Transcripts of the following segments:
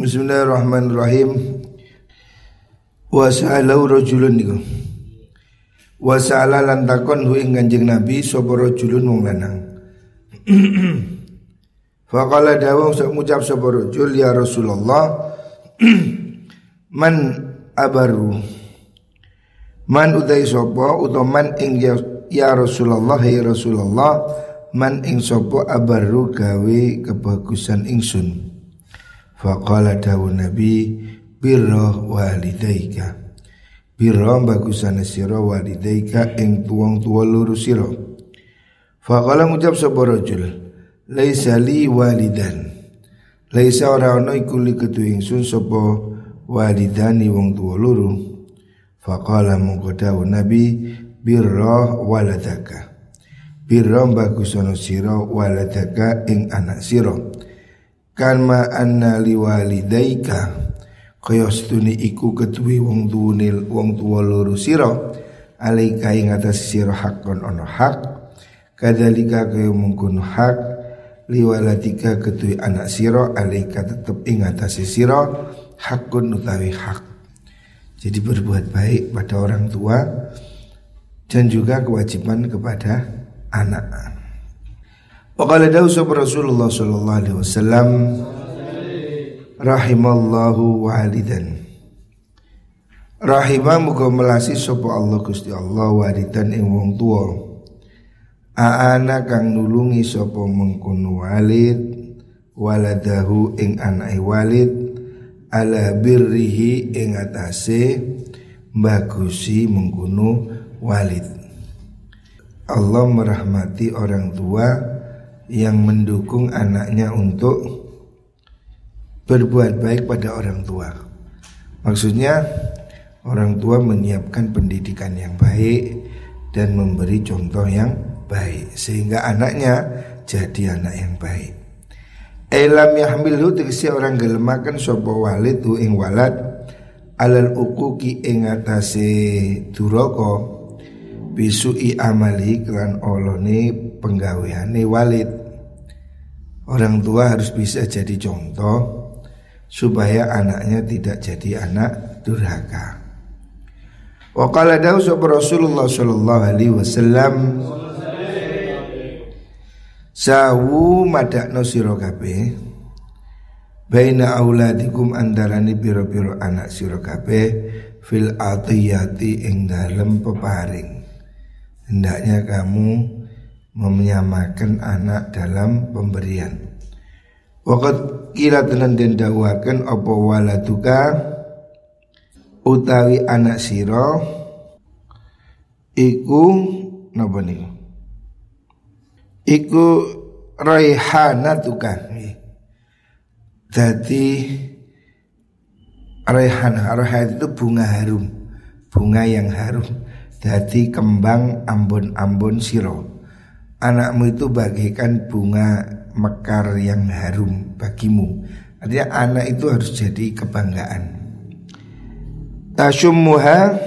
Bismillahirrahmanirrahim. Wa sa'alau rajulun niku. Wa sa'ala lan takon hu ing Kanjeng Nabi sapa rajulun wong lanang. Faqala dawu ngucap sapa rajul ya Rasulullah man abaru. Man utai sapa utaman ing ya Rasulullah ya Rasulullah man ing sapa abaru gawe kebagusan ingsun. Faqala dawu Nabi birra walidaika. Birra bagusane sira walidaika ing tuwong tuwa loro sira. Faqala ngucap sapa rajul laisa li walidan. Laisa ora ana iku li kedue ingsun sapa walidani wong tuwa loro. Faqala mongko dawu Nabi birra waladaka. Birra bagusane sira waladaka ing anak sira. Karma anna liwalidaika kaya setune iku kedue wong tuwa loro sira alaika ing atas sira hakon ana hak kadzalika kaya mungkun hak liwalatika kedue anak sira alaika tetep ing atas sira hakun utawi hak. Jadi berbuat baik pada orang tua dan juga kewajiban kepada anak. Waqala dawsa Rasulullah sallallahu alaihi wasallam rahimallahu walidan. Rahimah muga melasi sapa Allah Gusti Allah walidan ing wong tuwa. Aana kang nulungi sapa mengkono walid waladahu ing anake walid ala birrihi ing atase bagusi mengkono walid. Allah merahmati orang tua yang mendukung anaknya untuk berbuat baik pada orang tua. Maksudnya orang tua menyiapkan pendidikan yang baik dan memberi contoh yang baik sehingga anaknya jadi anak yang baik. Elam yahmilhu tegese orang gelemaken sapa walid ing walad alal uquqi ing atase duraka bisui amali kelan olone penggaweane walid. Orang tua harus bisa jadi contoh supaya anaknya tidak jadi anak durhaka. Wa qala dawu Rasulullah sallallahu alaihi wasallam sawu madakno sira kabeh baina auladikum andarane pira-pira anak sira kabeh fil atiyati ing dalem peparing. Hendaknya kamu menyamakan anak dalam pemberian. Waqad kila tenan den dawuhaken apa waladuka utawi anak sira iku napa niku? Iku raihanatuka. Dadi raihanah itu bunga harum, bunga yang harum. Dadi kembang ambon-ambon siro. Anakmu itu bagaikan bunga mekar yang harum bagimu. Artinya anak itu harus jadi kebanggaan. Tasummuha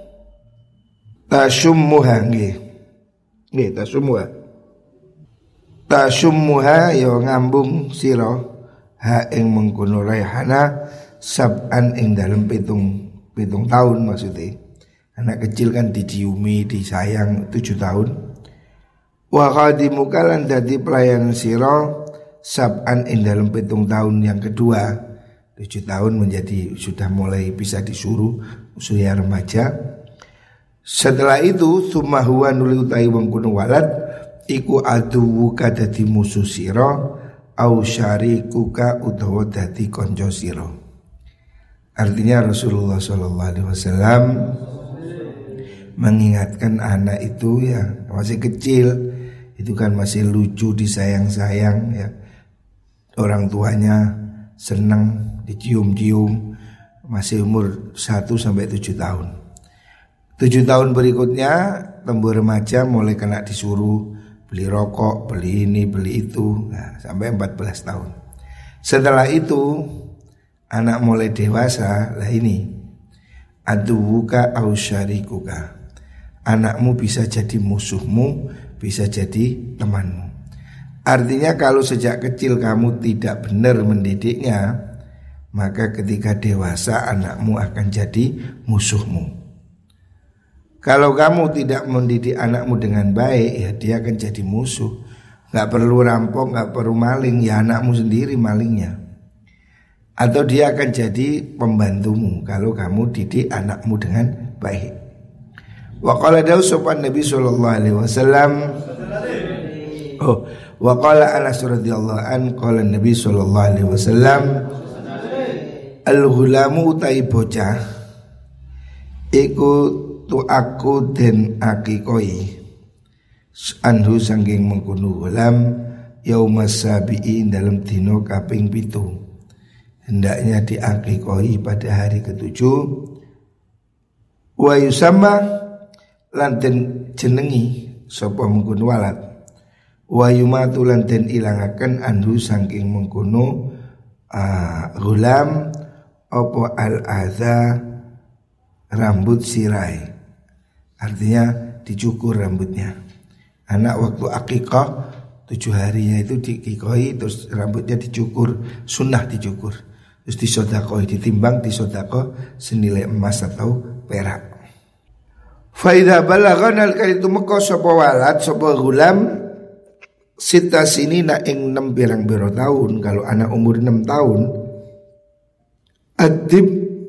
nggih. Nggih tasummuha. Tasummuha ya ngambung sira ha ing mengkono raihana sab'an ing dalem pitung tahun maksudnya. Anak kecil kan diciumi, disayang 7 tahun. Wa khadimuka lan dadi pelayan sira sab'an ing dalem 7 tahun yang kedua. 7 tahun menjadi sudah mulai bisa disuruh usia remaja. Setelah itu summa huwa nuli utahi wong kuno walad iku aduwuka dadi musuh sira au syarikuka utawa dadi kanca sira. Artinya Rasulullah sallallahu alaihi wasallam mengingatkan anak itu ya masih kecil, itu kan masih lucu, disayang-sayang ya. Orang tuanya senang dicium-cium, masih umur 1 sampai 7 tahun. 7 tahun berikutnya tumbuh remaja mulai kena disuruh beli rokok, beli ini, beli itu, nah, sampai 14 tahun. Setelah itu anak mulai dewasa, lah ini aduwuka au syarikuka. Anakmu bisa jadi musuhmu, bisa jadi temanmu. Artinya kalau sejak kecil kamu tidak benar mendidiknya, maka ketika dewasa anakmu akan jadi musuhmu. Kalau kamu tidak mendidik anakmu dengan baik, ya dia akan jadi musuh. Gak perlu rampok, gak perlu maling, ya anakmu sendiri malingnya. Atau dia akan jadi pembantumu kalau kamu didik anakmu dengan baik. Wa qala dawu sopan Nabi sallallahu alaihi wasallam. Wa qala Anas radhiyallahu an qala Nabi sallallahu alaihi wasallam, al-ghulamu utai bocah iku tu aku den akikoi anhu sangking mengkunu gulam yaumas sabi'in dalam dino kaping 7. Hendaknya diakikoi pada hari ke-7. Wa yusamma lan den jenengi sapa mengkunu walad. Wa yumatu lan den ilangaken anhu sangking mengkunu gulam apa al-adha rambut sirai. Artinya dicukur rambutnya. Anak waktu akikah 7 harinya itu dikikoi, terus rambutnya dicukur, sunnah dicukur, terus disodakoi, ditimbang disodako senilai emas atau perak. Faidah balagan al-kalitu meko sopa walad sopa gulam sita sini na ing 6 birang-biro tahun. Kalau anak umur 6 tahun adib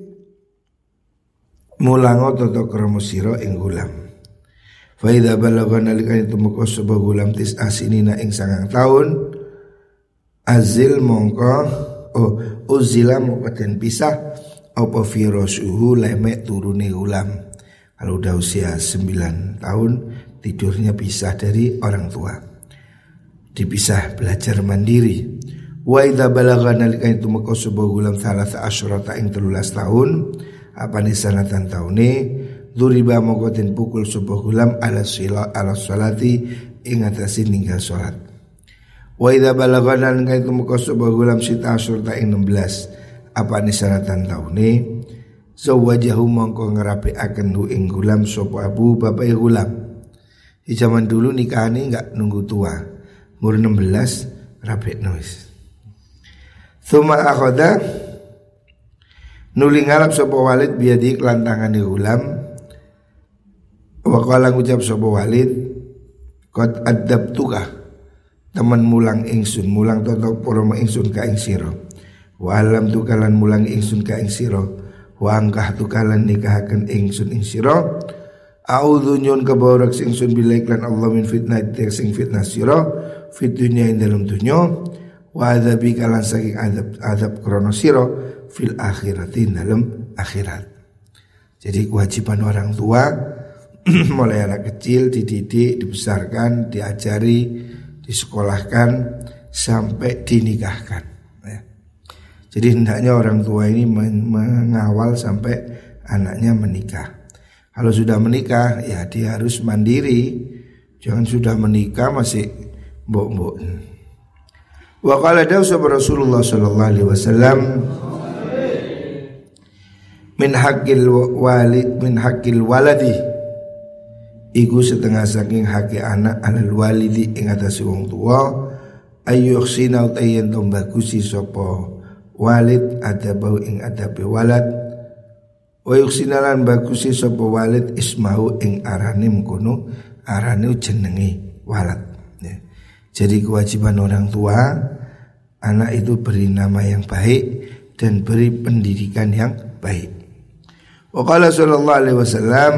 mulango toto kromo siro ing gulam. Faida balagan alikan itu moko sebuah gulam tis asinina ing 9 tahun azil mongko uzila mongko den pisah apa firosuhu lemek turune gulam. Kalau udah usia 9 tahun tidurnya pisah dari orang tua, dipisah belajar mandiri. Wa idza balagana lika itu meko sebuah gulam salasa asyrata ing 13 tahun apa ni sanatan taune duriba moko den pukul sebuah gulam ala salati ing atase ninggal salat. Wa idza balagana lika itu meko sebuah gulam sita asyrata ing 16 apa ni sanatan taune zawajahu mongko ngerapiaken hu ing gulam sapa abu bapak gulam. Di zaman dulu nikahane enggak nunggu tua, umur 16 rapekno wis. Thumma akhoda nuli ngalap sapa walid biadi kelantangane gulam. Wa qala ngucap sapa walid qad adabtuka temen mulang ingsun, mulang toto poromo ingsun ka ing sira. Wa alam tukalan mulang ingsun ka ing sira. Wa angkah tukalan nikahaken ingsun ing sira. A'udzu nyun kabarak ingsun billahi lan Allah min fitnah sing fitnah sira fit dunya ing dalem dunya. Wa adzabi kalan saking azab krono sira fil akhirati dalam akhirat. Jadi kewajiban orang tua mulai anak kecil dididik, dibesarkan, diajari, disekolahkan sampai dinikahkan ya. Jadi hendaknya orang tua ini mengawal sampai anaknya menikah. Kalau sudah menikah ya dia harus mandiri. Jangan sudah menikah masih mbok-mbok. Wa qala dawsa Rasulullah sallallahu alaihi wasallam min haqqil waladi iku setengah saking haki anak alal walidi ing atase wong tuwa ayyuhsina utayen to bagusi sapa walid adabau ing adabe walad wa yuhsina lan bagusi sapa walid ismahu ing arane mkono arane jenenge walad ya. Jadi kewajiban orang tua anak itu beri nama yang baik dan beri pendidikan yang baik. Wa qala sallallahu alaihi wasallam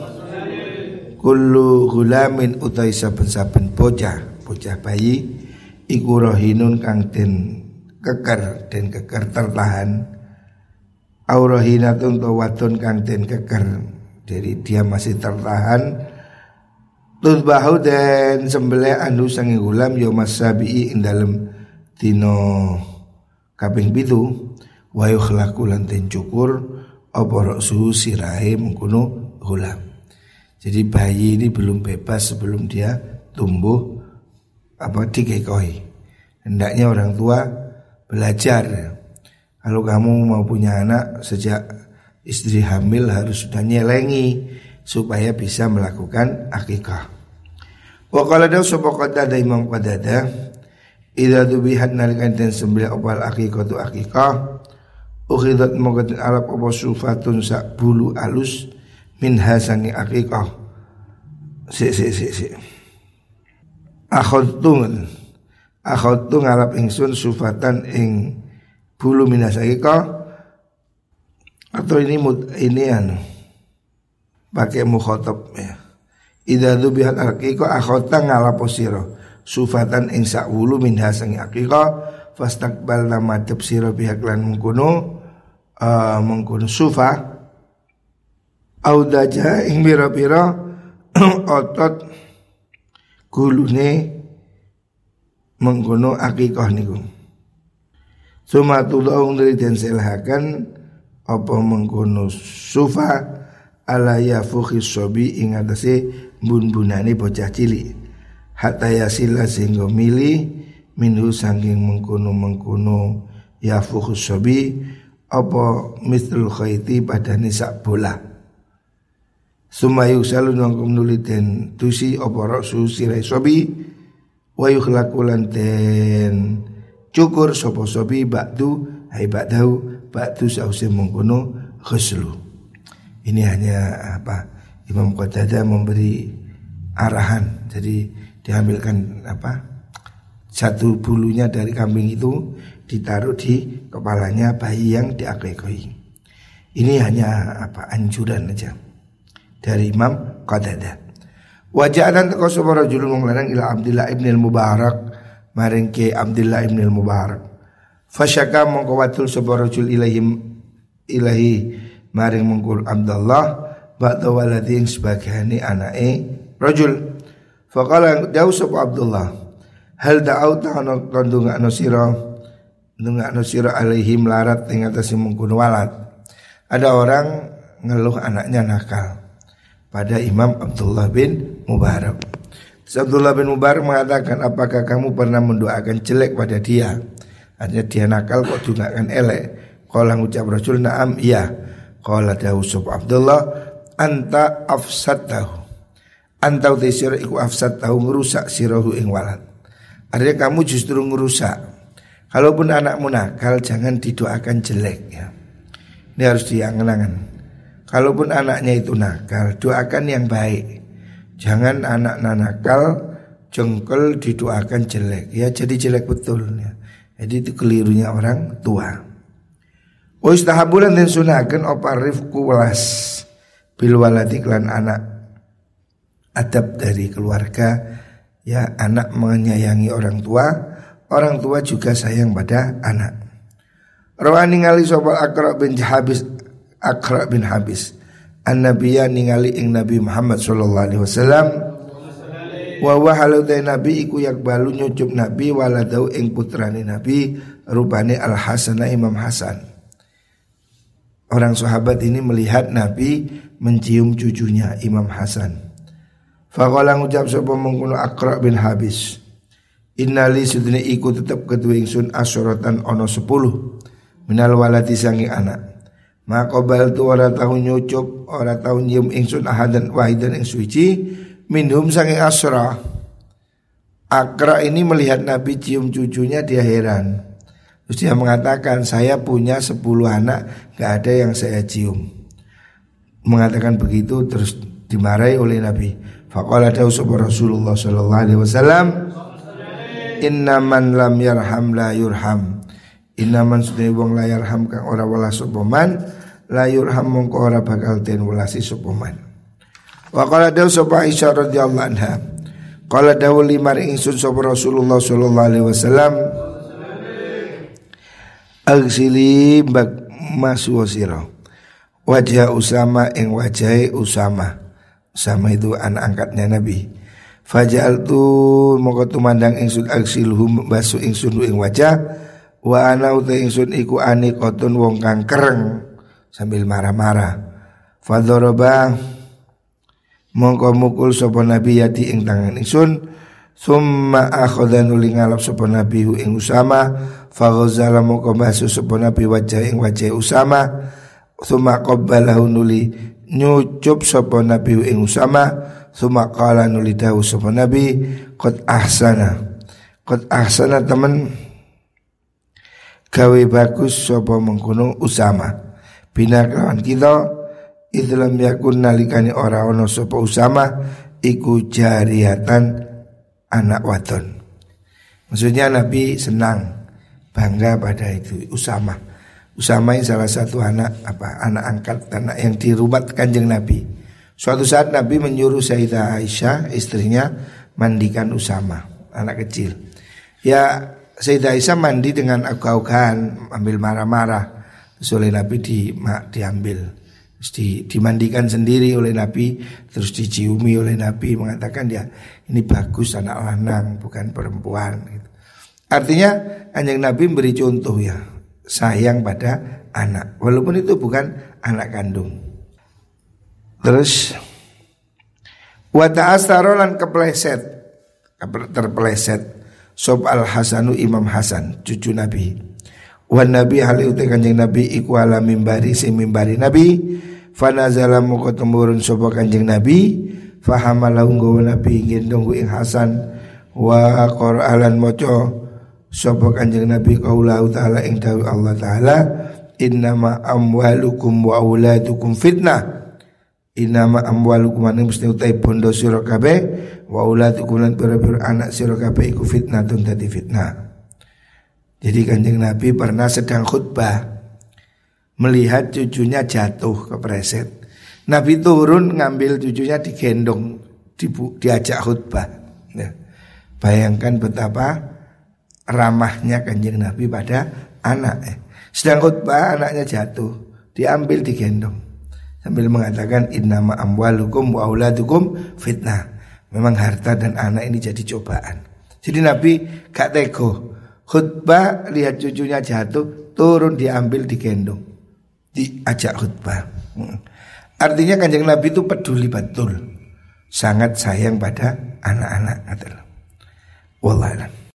kullu ghulamin utai saben-saben bocah bayi iku rahinun kang den keker tertahan au rahinatun to wadon kang den keker jadi dia masih tertahan tudbahu dan sembelih anu sange gulam ya masabi ing dalem dina kaping 7 wa yukhlaqu lan den cukur apa raksu sirahe mengkono gulam. Jadi bayi ini belum bebas sebelum dia tumbuh dikekoi. Hendaknya orang tua belajar. Kalau kamu mau punya anak sejak istri hamil harus sudah nyelengi supaya bisa melakukan akikah. Wa qala daw sapa qatada Imam Qatada idza dubihat nalikan den sembelih opal akikah tu akikah ukhidat mongko alap apa sufatun sak bulu alus minha sangi akikah. Si akhadtu ngalap ingsun sufatan ing bulu minha akikah. Atau ini pakai mukhatab ya. Idza dzubihat akikah akhadta ngalap sira sufatan ing sak wulu minha sangi akikah. Fastaqbal madhep sira pihak lan mengkono sufa audaja ing pira-pira otot gulune mengkono akikah niku. Sumatulung dari den selahaken apa mengkono sufa ala yafukhis sobi ing atase bun-bunane bocah cilik hatta yasila sehingga mili minhu saking mengkono yafukhus sobi apa mislul khayti padane sak bola. Sumayu salun wangkum nuliten tusi apa rasu sirai sobi wa yukhlaqulan ten cukur sapa sobi ba'du hai ba'du sause mengkono khuslu. Ini hanya Imam Qatadah memberi arahan. Jadi diambilkan satu bulunya dari kambing itu ditaruh di kepalanya bayi yang diakekahi. Ini hanya anjuran aja dari Imam Qatadah. Waja'an taqwa sapa rajulun wong lanang ila Abdullah ibn al-Mubarak maring ke Abdullah ibn al-Mubarak. Fasyaka mongko watul sapa rajul ilahi maring mungkul Abdullah ba'da waladin sebagaiane anake rajul. Faqala dawu sapa Abdullah hal da'auta ana kandungakno sira alaihim larat ing atase mungkul walad. Ada orang ngeluh anaknya nakal pada Imam Abdullah bin Mubarak. Abdullah bin Mubarak mengatakan, apakah kamu pernah mendoakan jelek pada dia? Artinya dia nakal kok doakan elek. Qala ngucap Rasul na'am iya. Qala dawu sapa Abdullah anta afsadtahu. Anta utisira iku afsadtahu ngerusak sirahu ing walad. Artinya kamu justru ngerusak. Kalaupun anakmu nakal jangan didoakan jelek ya. Ini harus diangen-angen. Kalaupun anaknya itu nakal, doakan yang baik. Jangan anak nakal jengkel didoakan jelek. Ya jadi jelek betul ya. Jadi itu kelirunya orang tua. Ustahabulan dan sunahkan apa rifku welas bil waladi lan anak. Adab dari keluarga ya, anak menyayangi orang tua juga sayang pada anak. Rawani ngali sapa Aqra bin Habis an-nabiyya ningali ing Nabi Muhammad sallallahu alaihi wasallam wa wahaludai nabi iku yakbalu nyucup nabi waladau ing putrane nabi rupane Al-Hasan Imam Hasan. Orang sahabat ini melihat Nabi mencium cucunya Imam Hasan. Faqala ngucap sapa mengkono Aqra bin Habis innali sudune iku tetep kedue ingsun asyaratan ana 10 minal waladi sangi anak. Maka bal tu ora tahu nyucup, ora tahu nyium ingsun ahadan wahidan ing suci minhum sange asra. Aqra ini melihat Nabi cium cucunya, dia heran. Terus dia mengatakan, saya punya 10 anak, gak ada yang saya cium. Mengatakan begitu terus dimarahi oleh Nabi. Faqala dawu sapa Rasulullah sallallahu alaihi wasallam, inna man lam yarham la yurham. Innaman sunai wong la yarham kang ora welas sapa man la yurham mongko ora bakal den welasi sapa man. Wa qala dawu sapa Aisyah radhiyallahu anha. Qala dawu limari ingsun sapa Rasulullah sallallahu alaihi wasallam, agsili bak maswasira wajah Usama ing wajahe Usama. Usama itu anak angkatnya Nabi. Faja'altu mongko tumandang ingsun agsilhum basu ingsun ing wajah. Wa ana uta ingsun iku anikotun wong kang kereng sambil marah-marah. Fadharaba mongko mukul sapa Nabi yati ing tangan ingsun. Summa akhadha nuli ngalap sapa Nabi ing Usama. Faghazala mongko basu sapa Nabi wajah ing wajah Usama. Summa qabbalahu nuli nyucup sapa Nabi ing Usama. Summa qala nuli dawu sapa Nabi qad ahsana temen gawe bagus sapa mengkono Usama bina kelawan kita idlam yakun nalikane ora ana sapa Usama iku jariatan anak wadon. Maksudnya Nabi senang, bangga pada itu Usama. Usama ini salah satu anak angkat, anak yang dirumat Kanjeng Nabi. Suatu saat Nabi menyuruh Sayyidah Aisyah istrinya mandikan Usama, anak kecil. Ya Sayyidah Aisyah mandi dengan agak-agahan, ambil marah-marah. Terus oleh Nabi diambil, terus dimandikan sendiri oleh Nabi, terus diciumi oleh Nabi, mengatakan ya ini bagus anak lanang bukan perempuan gitu. Artinya Kanjeng Nabi beri contoh ya, sayang pada anak walaupun itu bukan anak kandung. Terus wa ta'astarolan terpeleset sob al Hasanu Imam Hasan cucu Nabi. Wan Nabi hal uti Kanjeng Nabi iku ala mimbari sing mimbari Nabi. Fanazala muka temurun sopa Kanjeng Nabi. Fahamalahu nggawa Nabi gendong ing Hasan. Wa Qur'alan moco sopa Kanjeng Nabi qaulahu ta'ala ing dawuh Allah ta'ala. Innama amwalukum wa auladukum fitnah. Innama amwalukum ane mesti utai bondo sira kabeh wa auladukum lan pira-pira anak sira kabeh iku fitnatun dadi fitnah. Jadi Kanjeng Nabi pernah sedang khutbah melihat cucunya jatuh kepleset. Nabi turun ngambil cucunya digendong, diajak khutbah. Ya. Bayangkan betapa ramahnya Kanjeng Nabi pada anak. Sedang khutbah anaknya jatuh, diambil digendong. Sambil mengatakan innama amwalukum wa auladukum fitnah. Memang harta dan anak ini jadi cobaan. Jadi Nabi gak tego. Khutbah lihat cucunya jatuh, turun diambil digendong, diajak khutbah. Artinya Kanjeng Nabi itu peduli betul, sangat sayang pada anak-anak. Wallah alam.